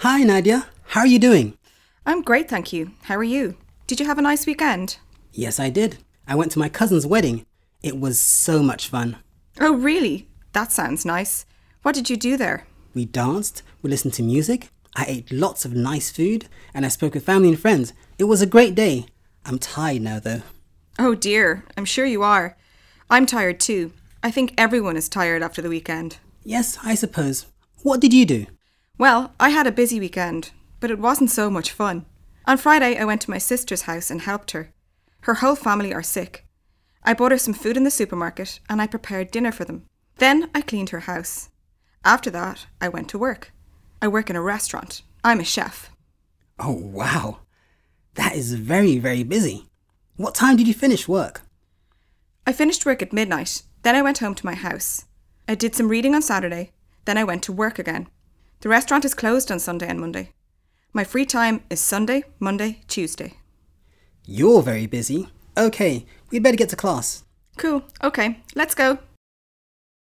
Hi Nadia, how are you doing? I'm great, thank you. How are you? Did you have a nice weekend? Yes, I did. I went to my cousin's wedding. It was so much fun. Oh, really? That sounds nice. What did you do there? We danced, we listened to music, I ate lots of nice food, and I spoke with family and friends. It was a great day. I'm tired now though. Oh dear, I'm sure you are. I'm tired too. I think everyone is tired after the weekend. Yes, I suppose. What did you do? Well, I had a busy weekend, but it wasn't so much fun. On Friday, I went to my sister's house and helped her. Her whole family are sick. I bought her some food in the supermarket and I prepared dinner for them. Then I cleaned her house. After that, I went to work. I work in a restaurant. I'm a chef. Oh wow, that is very, very busy. What time did you finish work? I finished work at midnight. Then I went home to my house. I did some reading on Saturday. Then I went to work again. The restaurant is closed on Sunday and Monday. My free time is Sunday, Monday, Tuesday. You're very busy. Okay, we'd better get to class. Cool. Okay, let's go.